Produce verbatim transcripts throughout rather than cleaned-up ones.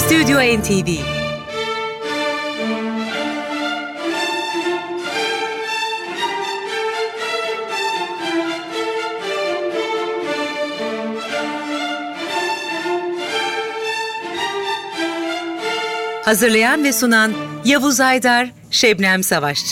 Stüdyo N T V. Hazırlayan ve sunan Yavuz Aydar, Şebnem Savaşçı.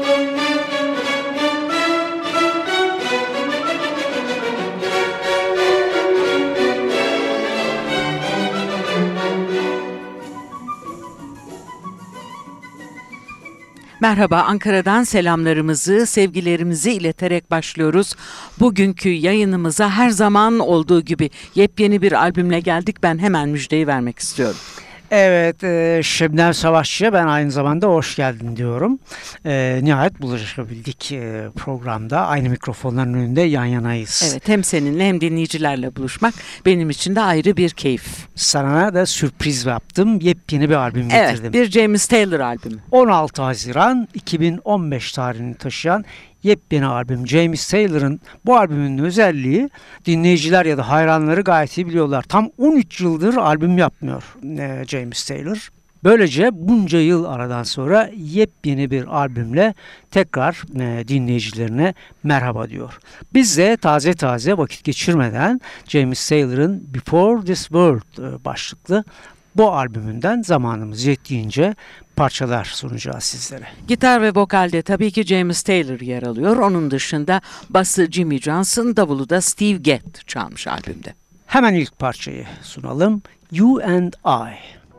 Merhaba, Ankara'dan selamlarımızı, sevgilerimizi ileterek başlıyoruz. Bugünkü yayınımıza her zaman olduğu gibi yepyeni bir albümle geldik. Ben hemen müjdeyi vermek istiyorum. Evet, e, Şebnem Savaşçı'ya ben aynı zamanda hoş geldin diyorum. E, nihayet buluşabildik e, programda. Aynı mikrofonların önünde yan yanayız. Evet, hem seninle hem dinleyicilerle buluşmak benim için de ayrı bir keyif. Sana da sürpriz yaptım. Yepyeni bir albüm getirdim. Evet, bir James Taylor albümü. on altı Haziran iki bin on beş tarihini taşıyan yepyeni albüm. James Taylor'ın bu albümünün özelliği, dinleyiciler ya da hayranları gayet iyi biliyorlar. Tam on üç yıldır albüm yapmıyor e, James Taylor. Böylece bunca yıl aradan sonra yepyeni bir albümle tekrar e, dinleyicilerine merhaba diyor. Biz de taze taze vakit geçirmeden James Taylor'ın Before This World e, başlıklı bu albümünden zamanımız yettiğince parçalar sunacağız sizlere. Gitar ve vokalde tabii ki James Taylor yer alıyor. Onun dışında bası Jimmy Johnson, davulu da Steve Gadd çalmış albümde. Hemen ilk parçayı sunalım. You and I.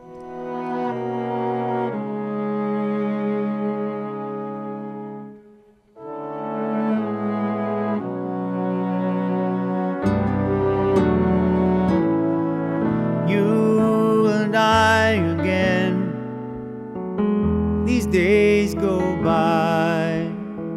Days go by,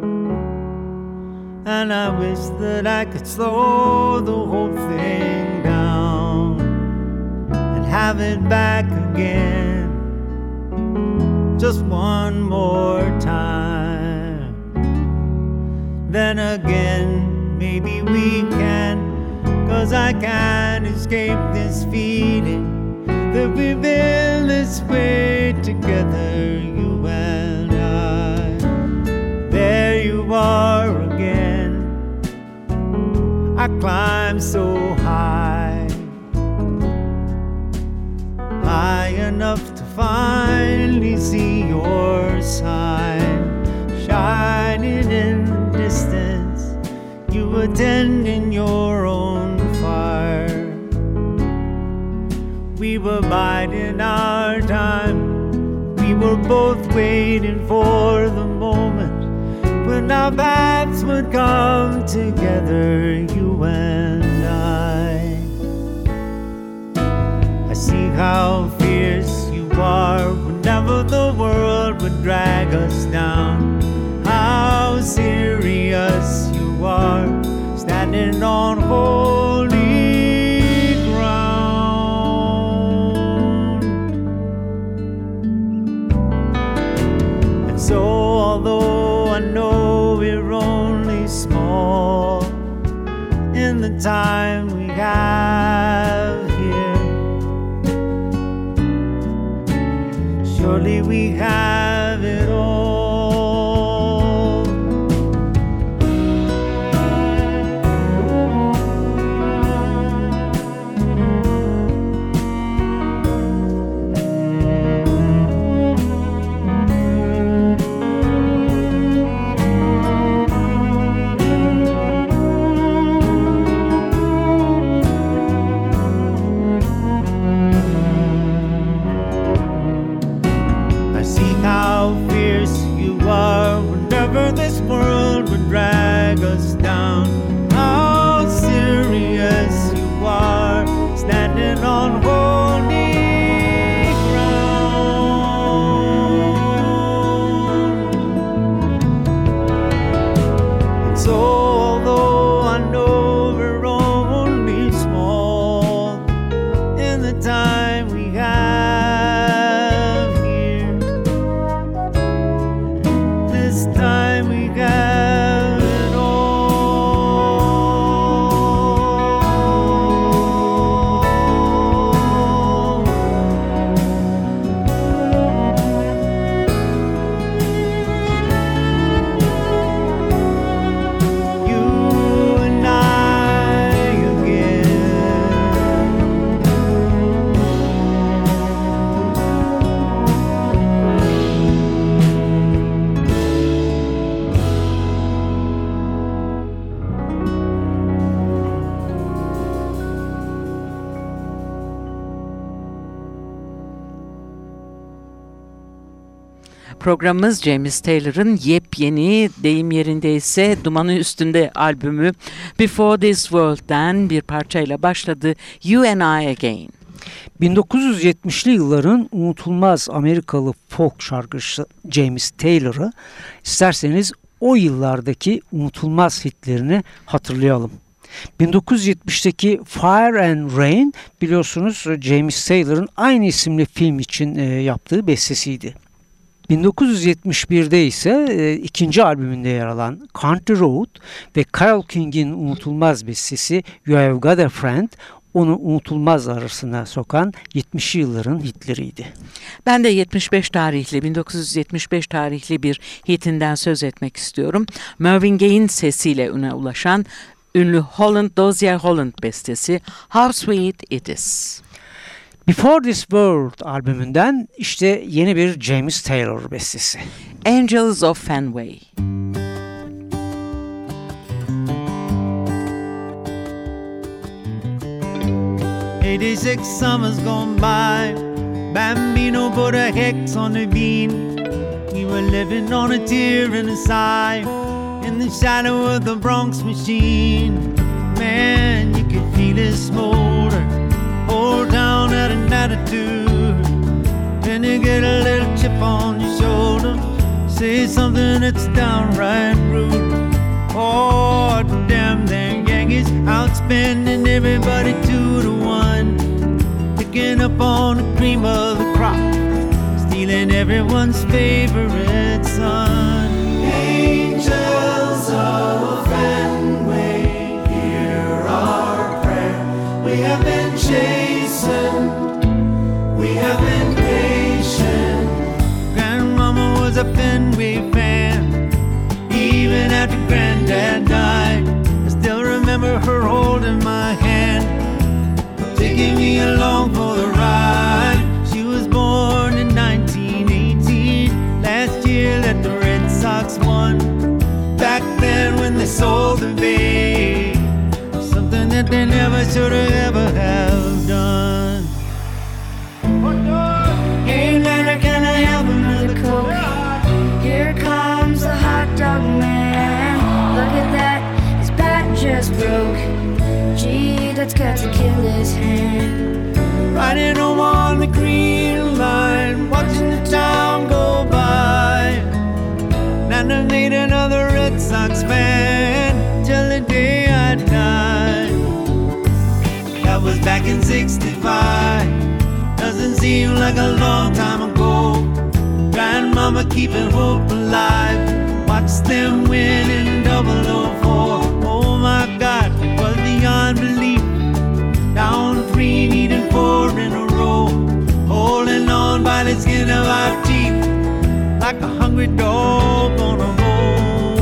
and I wish that I could slow the whole thing down and have it back again just one more time. Then again, maybe we can, 'cause I can't escape this feeling that we've been this way together, you and I. There you are again. I climbed so high, high enough to finally see your sign shining in the distance. You were tending your own fire. We were biding our time. We were both waiting for the moment when our paths would come together, you and I. I see how fierce you are whenever the world would drag us down. How serious you are, standing on holy So although I know we're only small in the time we have here, surely we have it all. Programımız James Taylor'ın yepyeni, deyim yerindeyse dumanı üstünde albümü Before This World'den bir parçayla başladı. You and I Again. bin dokuz yüz yetmişli yılların unutulmaz Amerikalı folk şarkıcısı James Taylor'ı isterseniz o yıllardaki unutulmaz hitlerini hatırlayalım. bin dokuz yüz yetmişteki Fire and Rain biliyorsunuz James Taylor'ın aynı isimli film için e, yaptığı bestesiydi. bin dokuz yüz yetmiş birde ise e, ikinci albümünde yer alan Country Road ve Carole King'in unutulmaz bestesi You Have Got a Friend onu unutulmaz arasına sokan yetmişli yılların hitleriydi. Ben de yetmiş beş tarihli, bin dokuz yüz yetmiş beş tarihli bir hitinden söz etmek istiyorum. Marvin Gaye'in sesiyle üne ulaşan ünlü Holland, Dozier Holland bestesi How Sweet It Is. Before This World albümünden işte yeni bir James Taylor bestesi. Angels of Fenway. eighty-six summers gone by, Bambino put a hex on the bean. We were living on a tear and a sigh, in the shadow of the Bronx machine. Man, you could feel it smolder, hold down at an attitude. Then you get a little chip on your shoulder, say something that's downright rude. Oh, damn them Yankees, outspending everybody two to one, picking up on the cream of the crop, stealing everyone's favorite son. Angels of Fenway, hear our prayer. We have been chastened, we have been patient. Grandmama was a Fenway fan, even after Granddad died. I still remember her holding my hand, taking me along for the ride. She was born in nineteen eighteen, last year that the Red Sox won. Back then when they sold the Bay, something that they never should have ever have done. Hey Nana, can I help him with a Coke? Here comes the hot dog man. Look at that, his bat just broke. Gee, that's got to kill his hand. Riding home on the green line, watching the town go by. Nana made another Red Sox fan till the day I died. That was back in sixty-five. Doesn't seem like a long time ago. Grandmama keeping hope alive, watch them win in double oh four. Oh my God, it was beyond belief. Down three, needing four in a row, holding on by the skin of our teeth, like a hungry dog on a roll.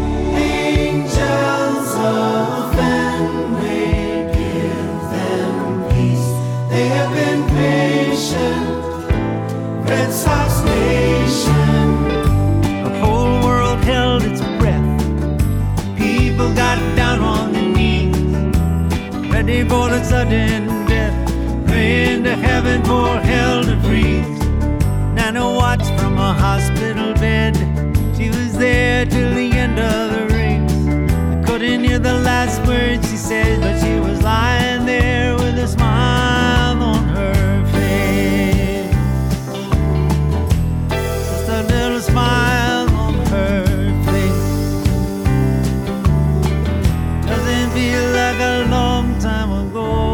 Angels of Fenway, give them peace. They have been patient. Red Sox Nation. The whole world held its breath. People got down on their knees, ready for the sudden death, praying to heaven for hell to freeze. Nana watched from a hospital bed. She was there till the end of the race. I couldn't hear the last words she said, but she was lying there with a smile on her face. Just a little smile on her face. Doesn't feel like a long time ago.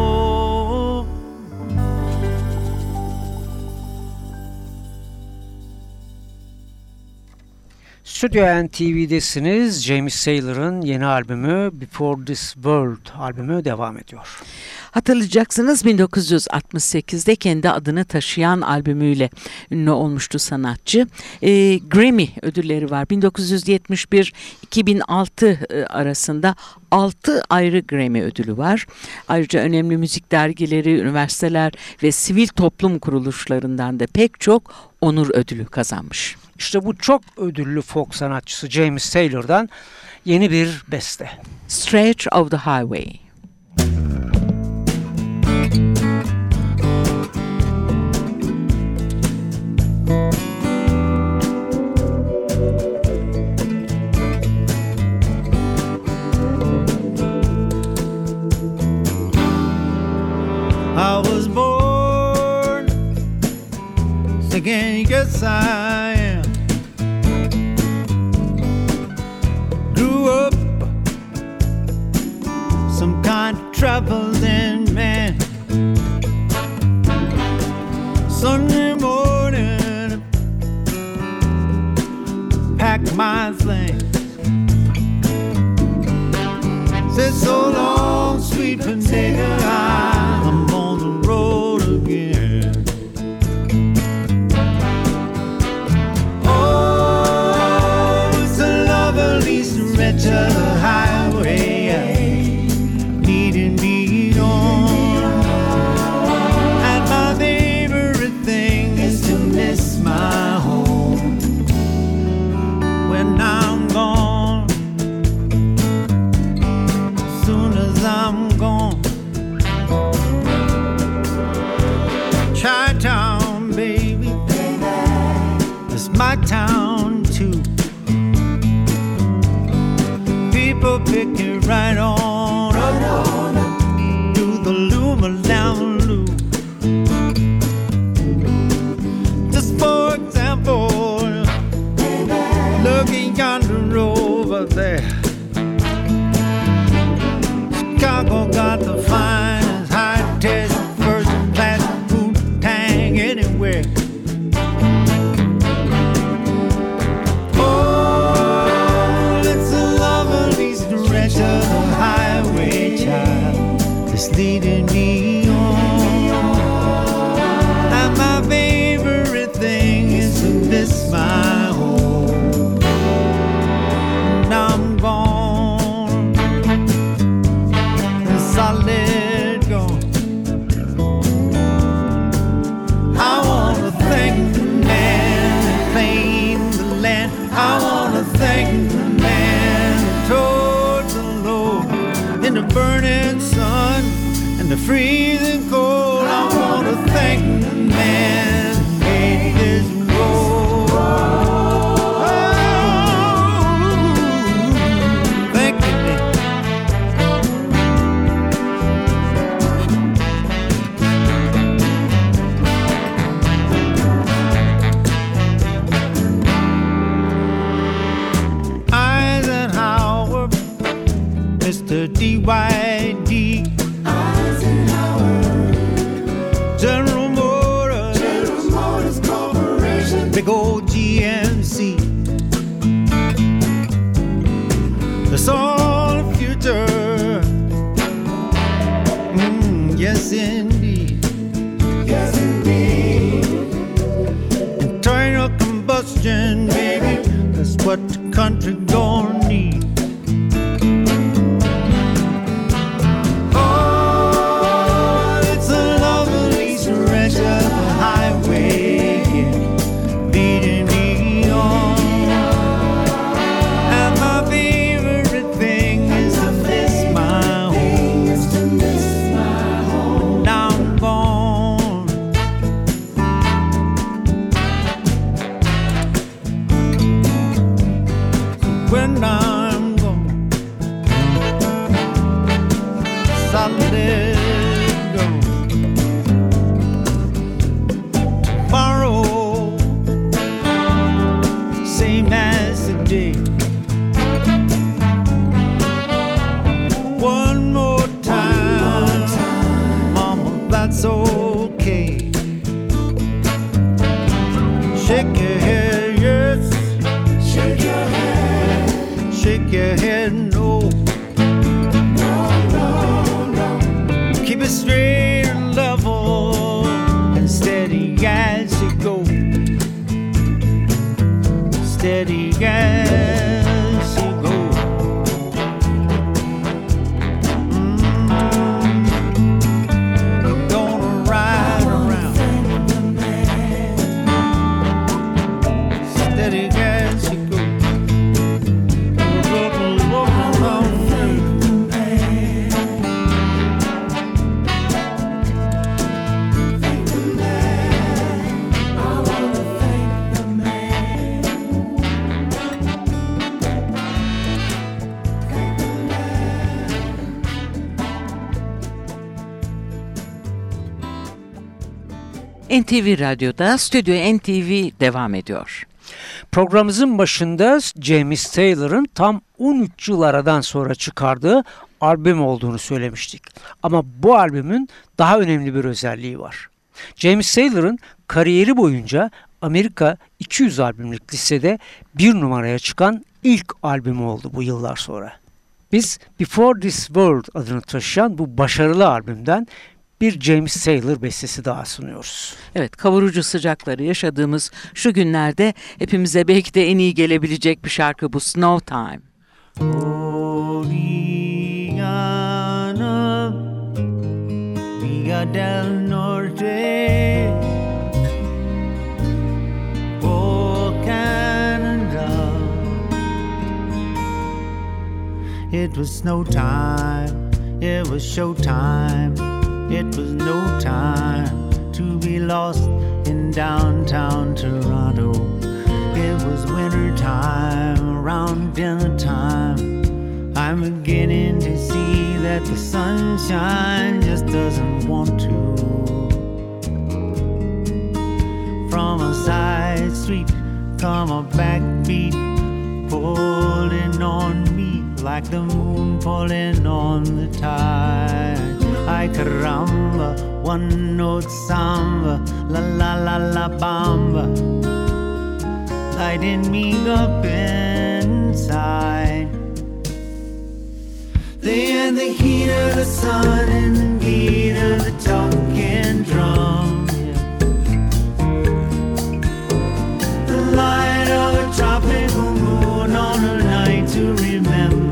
Stüdyo N T V'desiniz. James Taylor'ın yeni albümü Before This World albümü devam ediyor. Hatırlayacaksınız bin dokuz yüz altmış sekizde kendi adını taşıyan albümüyle ünlü olmuştu sanatçı. E, Grammy ödülleri var. bin dokuz yüz yetmiş bir iki bin altı arasında altı ayrı Grammy ödülü var. Ayrıca önemli müzik dergileri, üniversiteler ve sivil toplum kuruluşlarından da pek çok onur ödülü kazanmış. İşte bu çok ödüllü folk sanatçısı James Taylor'dan yeni bir beste. Stretch of the Highway. again, yes I am. Grew up some kind of traveling man. Sunday morning, pack my things. Said so long, sweet potato, I'm on the road again. Oh, it's a lovely stretch of the highway, leading me on. And my favorite thing is to miss my home when I'm gone. I'm gone. Chi-town, baby, it's my town too. People pick it right on up to the Luma down low. Just for example, looking yonder over there, Chicago got the finest high-tech first-class food tang anywhere. Oh, it's a lovely stretch of the highway, child, that's leading me on. And my favorite thing is to miss my home. Now I'm gone. I let go. I wanna thank the man that claimed the land. I wanna thank the man that towed the load in the burning sun and the freezing cold. I wanna thank the man that made this road. Oh, thank you, man. Mister D Y D, Eisenhower, General Motors, General Motors Corporation, big old G M C. That's all the future. Mm, yes, indeed. Yes, indeed. Internal combustion, baby, that's what the country gonna need. Leading me on. And my favorite thing is to miss my home. Now I'm gone. When I'm gone, I let go. Tomorrow, same as today. One more time, mama, that's okay. Shake your head, yes. Shake your head. Shake your head, no. No, no, no. Keep it straight and level and steady as you go. Steady as you go. Mm, you're gonna ride around. Steady as you go. Look, look, look around. I wanna thank the man. N T V Radyo'da Stüdyo N T V devam ediyor. Programımızın başında James Taylor'ın tam on üç yıl aradan sonra çıkardığı albüm olduğunu söylemiştik. Ama bu albümün daha önemli bir özelliği var. James Taylor'ın kariyeri boyunca Amerika iki yüz albümlük listede bir numaraya çıkan ilk albümü oldu bu yıllar sonra. Biz Before This World adını taşıyan bu başarılı albümden bir James Taylor bestesi daha sunuyoruz. Evet, kavurucu sıcakları yaşadığımız şu günlerde hepimize belki de en iyi gelebilecek bir şarkı bu, Snow Time. Oriana, Villa del Norte, oh Canada. It was snow time, it was show time. It was no time to be lost in downtown Toronto. It was winter time, around dinner time. I'm beginning to see that the sunshine just doesn't want to. From a side street come a backbeat pulling on me like the moon pulling on the tide. Ay caramba, one note samba, la la la la bamba, lighting me up inside. They had the heat of the sun and the beat of the talking drum, yeah. The light of a tropical moon on a night to remember.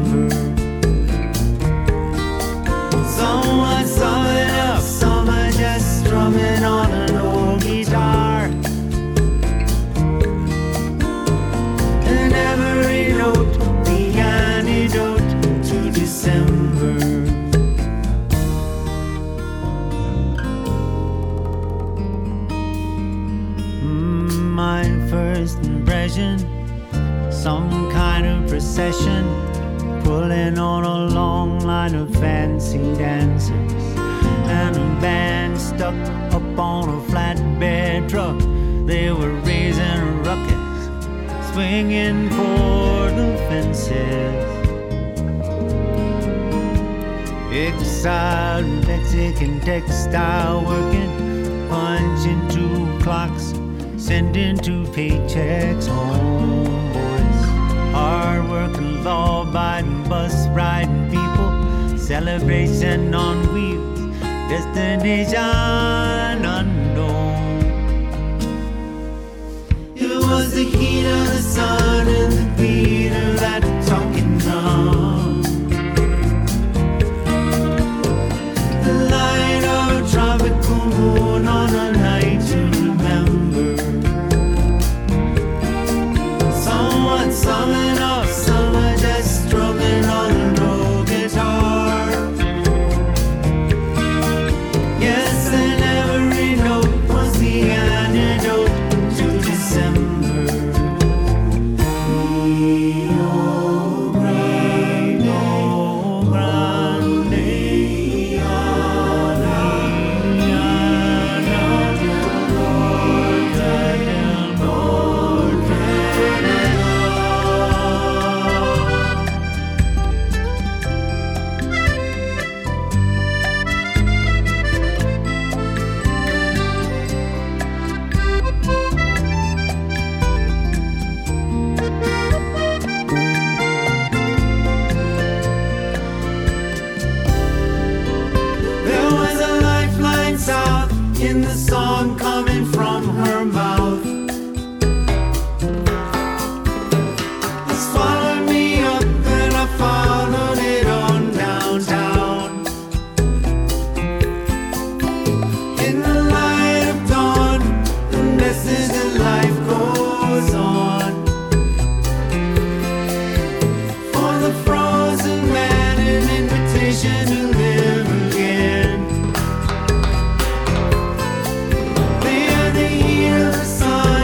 Someone summing up, someone just strumming on an old guitar. And every note, the antidote to December. Mm, my first impression, some kind of procession, pulling on a long line of fancy dancers, and a band stuck up on a flatbed truck. They were raising a ruckus, swinging for the fences. Exiled Mexican textile working, punching two clocks, sending two paychecks home. Hard working, law abiding, bus riding people, celebration on wheels, destination unknown. It was the heat of the sun and the beat of that talking drum. The light of a tropical moon on a night to remember. Someone summing up, someone just strumming on an old guitar. Yes, and every note was the antidote to December. Rio Grande, Grande, there was a lifeline south in the song coming from her mouth. It swallowed me up and I followed it on downtown. In the light of dawn, the message that life goes on. For the frozen man, an invitation to live again. They are the heat of the sun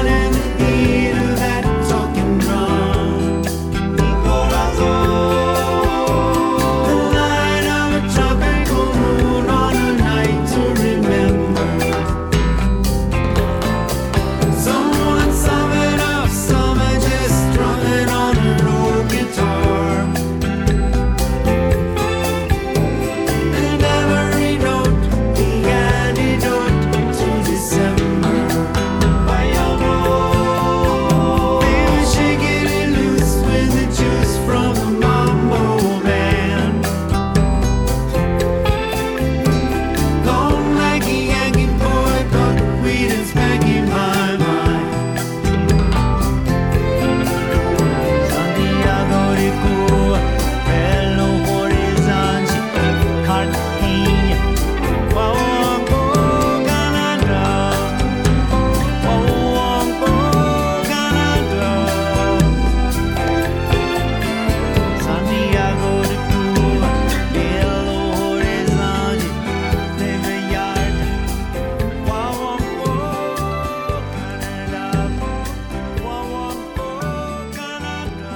that's back in my mind. Santiago de Cuba, Belo Horizonte, Cartagena, Huahuaco, Canada, Huahuaco, Canada. Santiago de Cuba, Belo Horizonte, Nova York, Huahuaco, Canada, Huahuaco, Canada.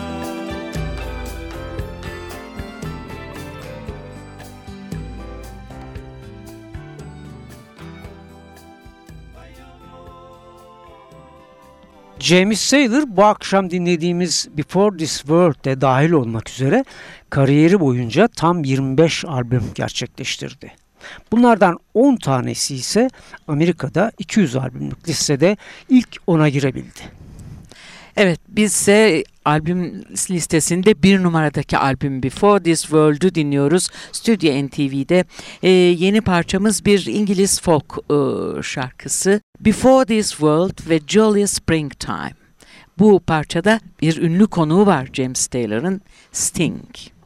James Taylor bu akşam dinlediğimiz Before This World'de dahil olmak üzere kariyeri boyunca tam yirmi beş albüm gerçekleştirdi. Bunlardan on tanesi ise Amerika'da iki yüz albümlük listede ilk ona girebildi. Evet, biz ise albüm listesinde bir numaradaki albüm Before This World'u dinliyoruz. Stüdyo N T V'de e, yeni parçamız bir İngiliz folk e, şarkısı. Before This World ve Jolly Springtime. Bu parçada bir ünlü konuğu var James Taylor'ın, Sting.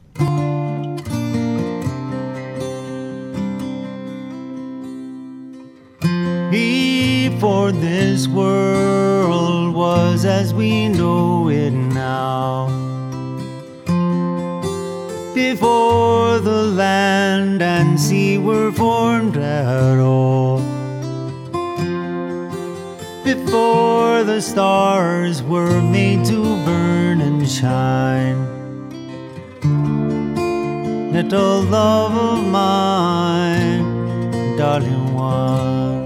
Before this world was as we know it now, before the land and sea were formed at all, before the stars were made to burn and shine, little love of mine, darling one.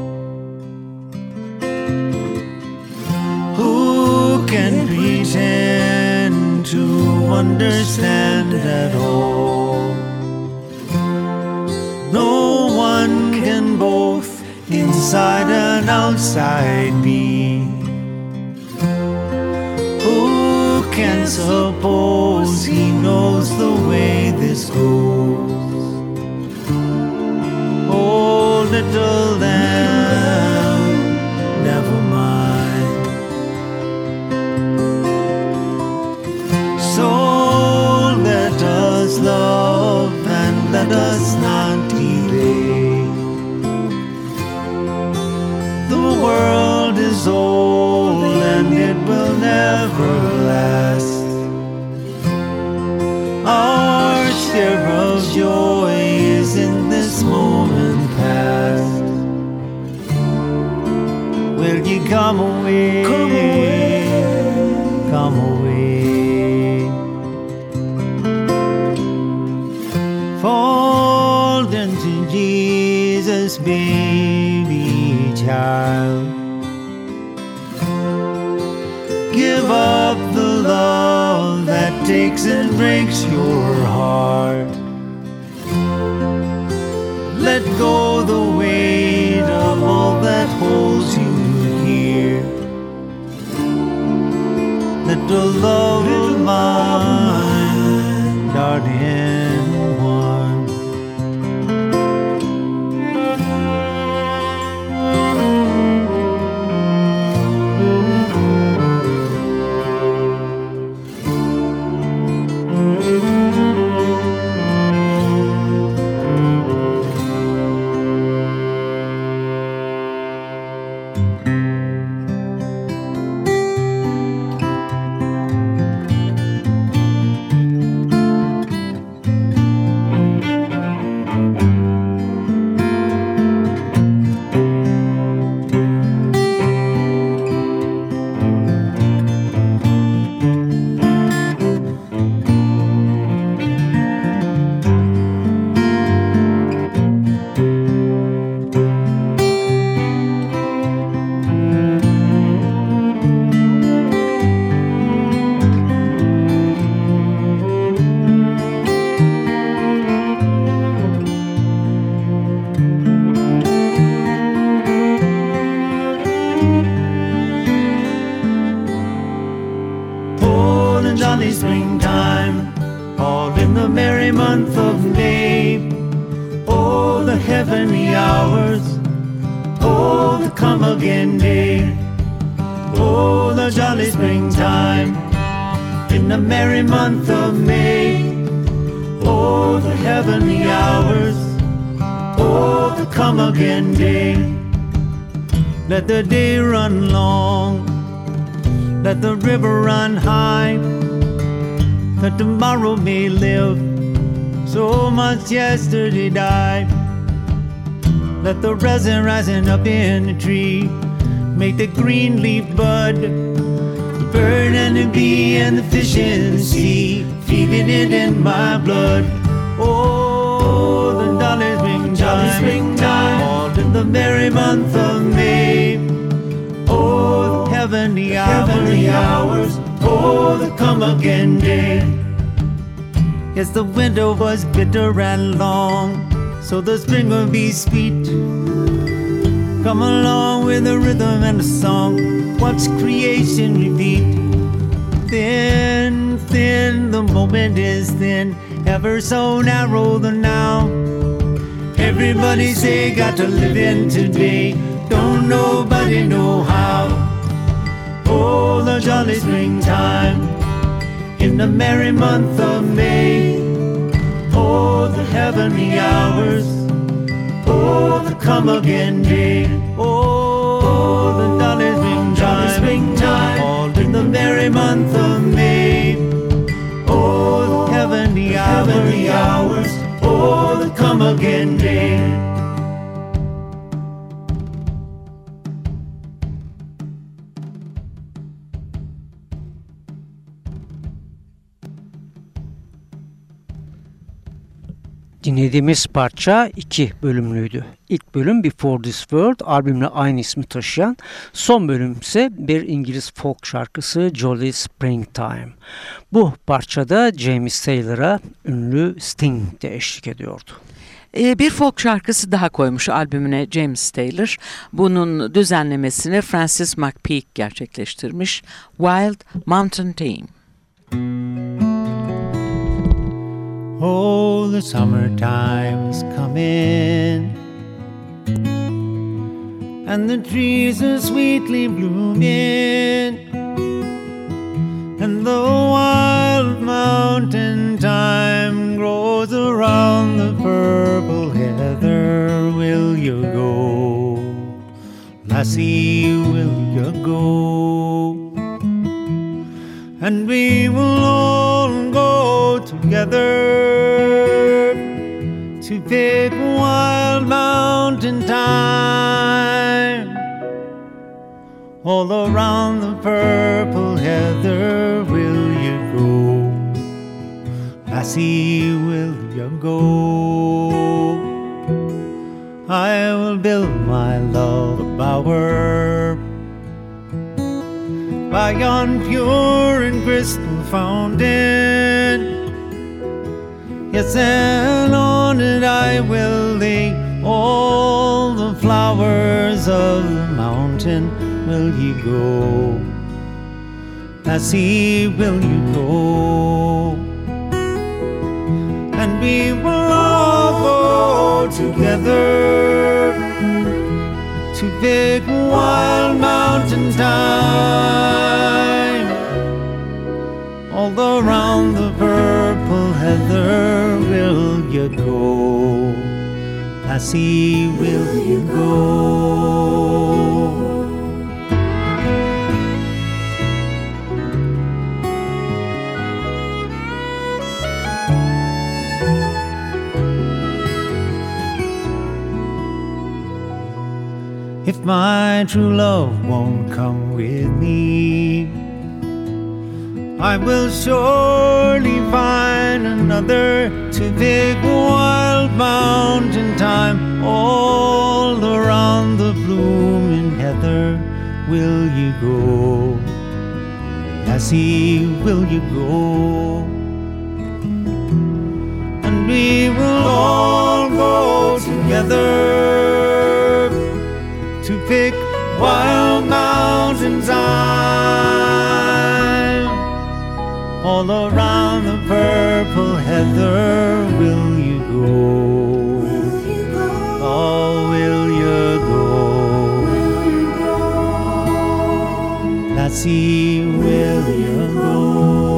Who can pretend to understand at all? No one can both inside and outside be. Who can suppose he knows the way this goes? Oh, little lamb, never mind. So let us love and let us not delay. The world is old and it will never last. Our share of joy is in this moment past. Will you come away? Come away. Come away. Fall into Jesus, baby child. Give up the love that takes and breaks your heart. Let go the weight of all that holds you here. Little love of mine, darling one. Jolly springtime, all in the merry month of May. Oh, the heavenly hours, oh, the come again day. Oh, the jolly springtime in the merry month of May. Oh, the heavenly hours. Oh, the come again day. Let the day run long, let the river run high, that tomorrow may live, so much yesterday died. Let the resin rising up in the tree make the green leaf bud, the bird and the bee and the fish in the sea, feeling it in my blood. Oh, the jolly springtime, springtime, all in the merry month of May. Oh, the heavenly, heavenly hours, oh, the come again day. Yes, the winter was bitter and long, so the spring will be sweet. Come along with the rhythm and the song, watch creation repeat. Thin, thin, the moment is thin, ever so narrow the now. Everybody say got to live in today, don't nobody know how. Oh, the jolly springtime in the merry month of May. Oh, the heavenly hours. Oh, the come again day. Oh, the jolly springtime, springtime, all in the merry month of May. Oh, the heavenly, heavenly hours. Oh, the come again day. Dinlediğimiz parça iki bölümlüydü. İlk bölüm Before This World albümle aynı ismi taşıyan, son bölüm ise bir İngiliz folk şarkısı Jolly Springtime. Bu parçada James Taylor'a ünlü Sting de eşlik ediyordu. Bir folk şarkısı daha koymuş albümüne James Taylor. Bunun düzenlemesini Francis McPeak gerçekleştirmiş. Wild Mountain Theme. Oh, the summertime's coming, and the trees are sweetly blooming, and the wild mountain thyme grows around the purple heather. Will you go, lassie, will you go? And we will all go together to pick wild mountain thyme. All around the purple heather will you go, lassie, will you go? I will build my love a bower by yon pure and crystal fountain. Yes, and on it I will lay all the flowers of the mountain. Will you go, lassie, will you go? And we will all go together to pick wild mountain thyme. All around the purple heather will you go, lassie, will you go? If my true love won't come with me, I will surely find another to pick wild mountain thyme. All around the blooming heather will you go, lassie, will you go? And we will all go together to pick wild mountain thyme. All around the purple heather will you go? Oh, will you go? I see William go.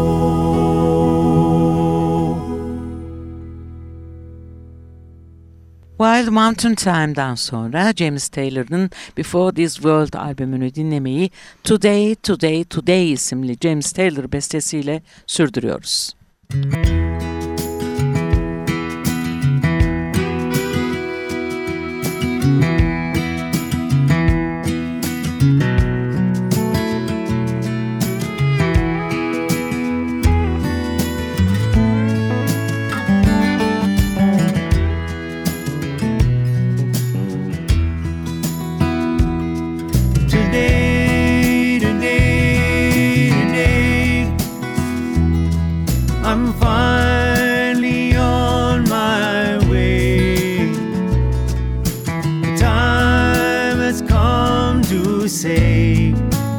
Wild Mountain Time'dan sonra James Taylor'ın Before This World albümünü dinlemeyi Today, Today, Today isimli James Taylor bestesiyle sürdürüyoruz. I'm finally on my way. The time has come to say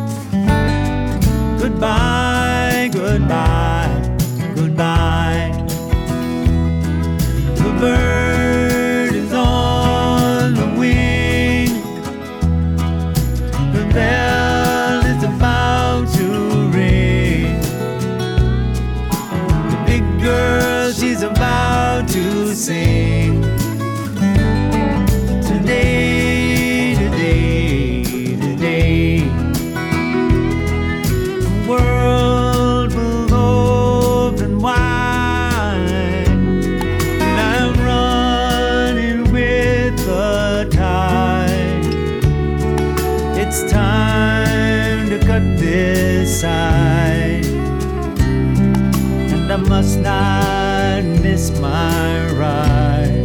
goodbye, goodbye, goodbye. The bird is on the wing. The bell is about to ring. Girl, she's about to sing. Today, today, today, the world will open wide, and I'm running with the tide. It's time to cut this side. I must not miss my ride.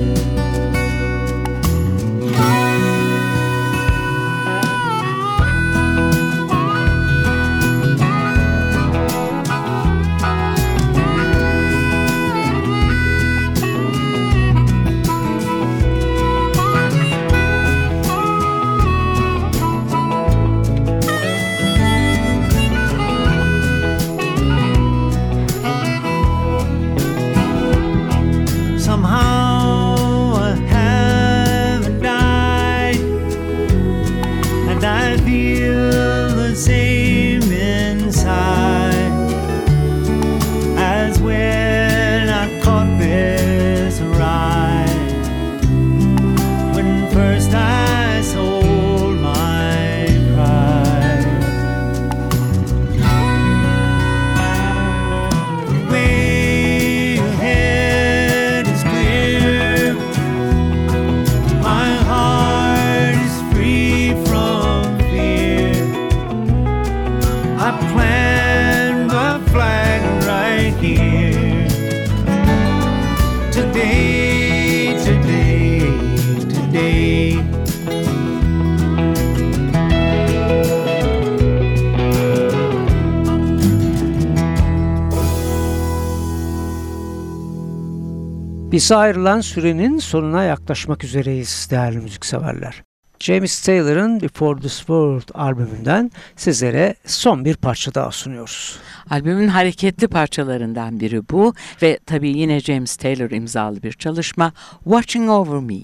Bize ayrılan sürenin sonuna yaklaşmak üzereyiz değerli müzikseverler. James Taylor'ın Before This World albümünden sizlere son bir parça daha sunuyoruz. Albümün hareketli parçalarından biri bu ve tabii yine James Taylor imzalı bir çalışma Watching Over Me.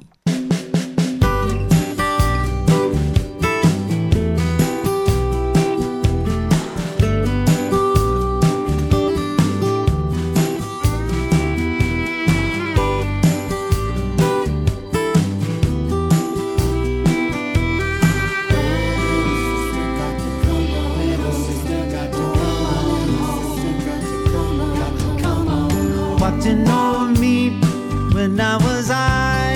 Watching over me when I was high,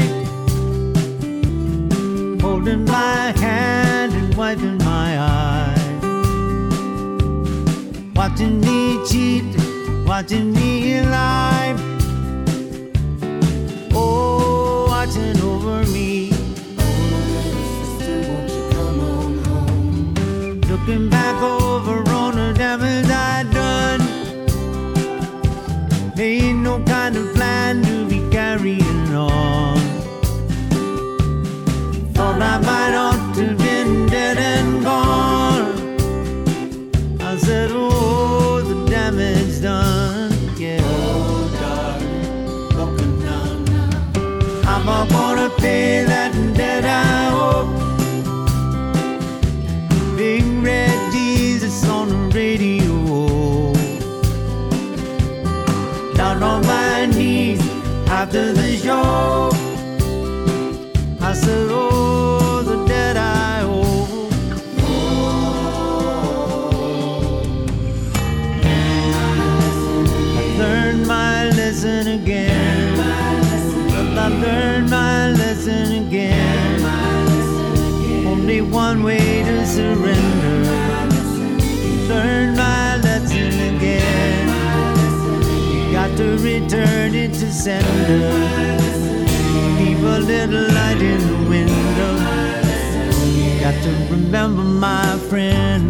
holding my hand and wiping my eyes, watching me cheat, watching me lie, oh, watching over me. Looking back over on the damage I'd done, there ain't no kind of plan to be carrying on. Thought I might ought to been dead and gone. I said, oh, the damage done, yeah. Oh, darling, broken down now. I'm not gonna pay that debt, I hope. Big red D's surrender. Learn my lesson again. You got to return it to sender. Leave a little light in the window. You got to remember, my friend.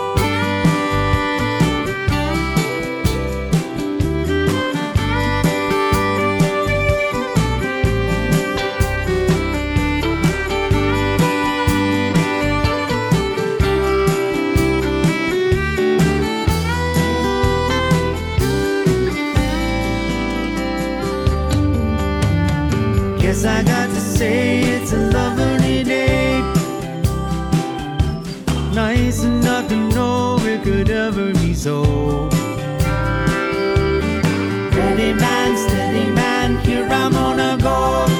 Guess I got to say it's a lovely day. Nice enough to know it could ever be so. Steady man, steady man, here I'm gonna go.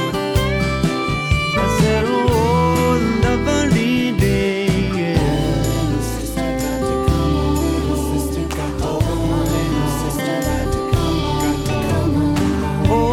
I said, oh, lovely day, yeah. Little sister got to come home, little sister got to come home, little sister got to come home, got to come home. Oh.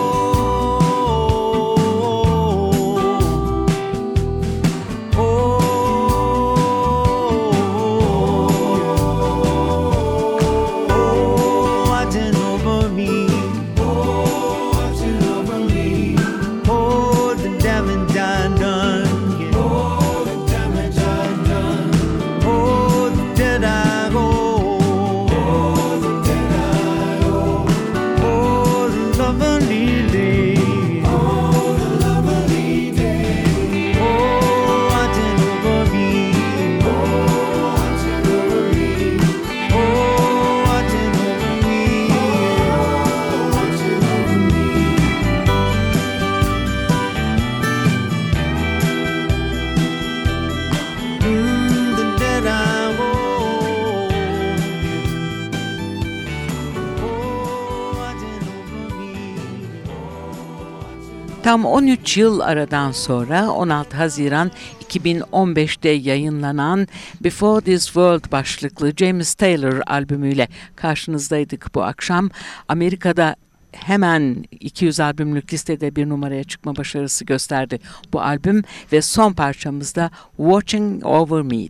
Tam on üç yıl aradan sonra on altı Haziran iki bin on beşte yayınlanan Before This World başlıklı James Taylor albümüyle karşınızdaydık bu akşam. Amerika'da hemen iki yüz albümlük listede bir numaraya çıkma başarısı gösterdi bu albüm ve son parçamızda Watching Over Me.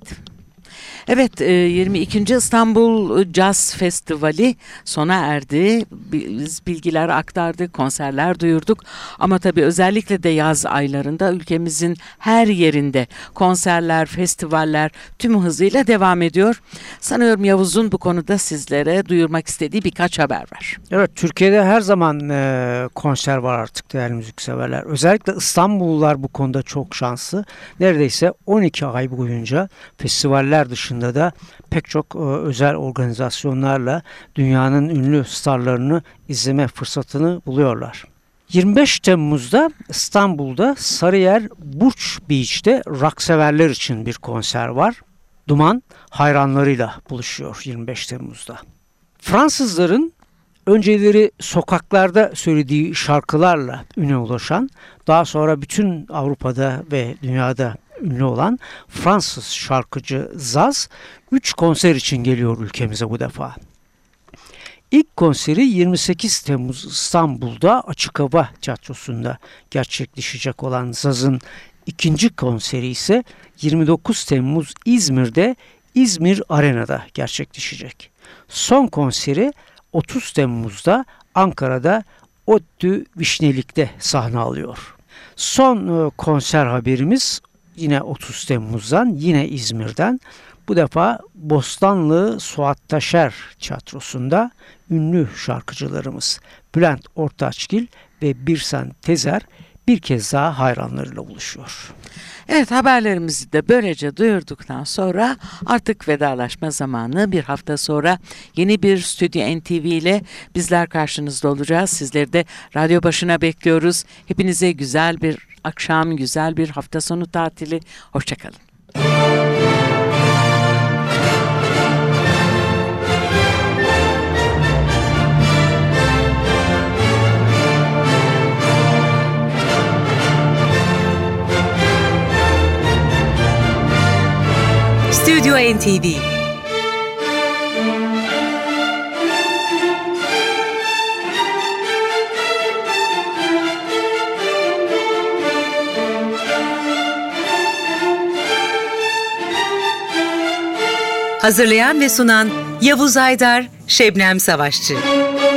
Evet, yirmi ikinci İstanbul Jazz Festivali sona erdi. Biz bilgiler aktardık, konserler duyurduk. Ama tabii özellikle de yaz aylarında ülkemizin her yerinde konserler, festivaller tüm hızıyla devam ediyor. Sanıyorum Yavuz'un bu konuda sizlere duyurmak istediği birkaç haber var. Evet, Türkiye'de her zaman e, konser var artık değerli müzikseverler. Özellikle İstanbullular bu konuda çok şanslı. Neredeyse on iki ay boyunca festivaller dışında da pek çok e, özel organizasyonlarla dünyanın ünlü starlarını izleme fırsatını buluyorlar. yirmi beş Temmuz'da İstanbul'da Sarıyer Burç Beach'te rock severler için bir konser var. Duman hayranlarıyla buluşuyor yirmi beş Temmuz'da. Fransızların önceleri sokaklarda söylediği şarkılarla üne ulaşan, daha sonra bütün Avrupa'da ve dünyada ünlü olan Fransız şarkıcı Zaz üç konser için geliyor ülkemize bu defa. İlk konseri yirmi sekiz Temmuz İstanbul'da Açık Hava Tiyatrosu'nda gerçekleşecek olan Zaz'ın ikinci konseri ise yirmi dokuz Temmuz İzmir'de İzmir Arena'da gerçekleşecek. Son konseri otuz Temmuz'da Ankara'da ODTÜ Vişnelik'te sahne alıyor. Son konser haberimiz yine otuz Temmuz'dan, yine İzmir'den. Bu defa Bostanlı Suat Taşer Tiyatrosu'nda ünlü şarkıcılarımız Bülent Ortaçgil ve Birsen Tezer bir kez daha hayranlarıyla buluşuyor. Evet, haberlerimizi de böylece duyurduktan sonra artık vedalaşma zamanı. Bir hafta sonra yeni bir Stüdyo N T V ile bizler karşınızda olacağız. Sizleri de radyo başına bekliyoruz. Hepinize güzel bir akşam, güzel bir hafta sonu tatili. Hoşçakalın. Stüdyo N T V. Hazırlayan ve sunan Yavuz Aydar, Şebnem Savaşçı.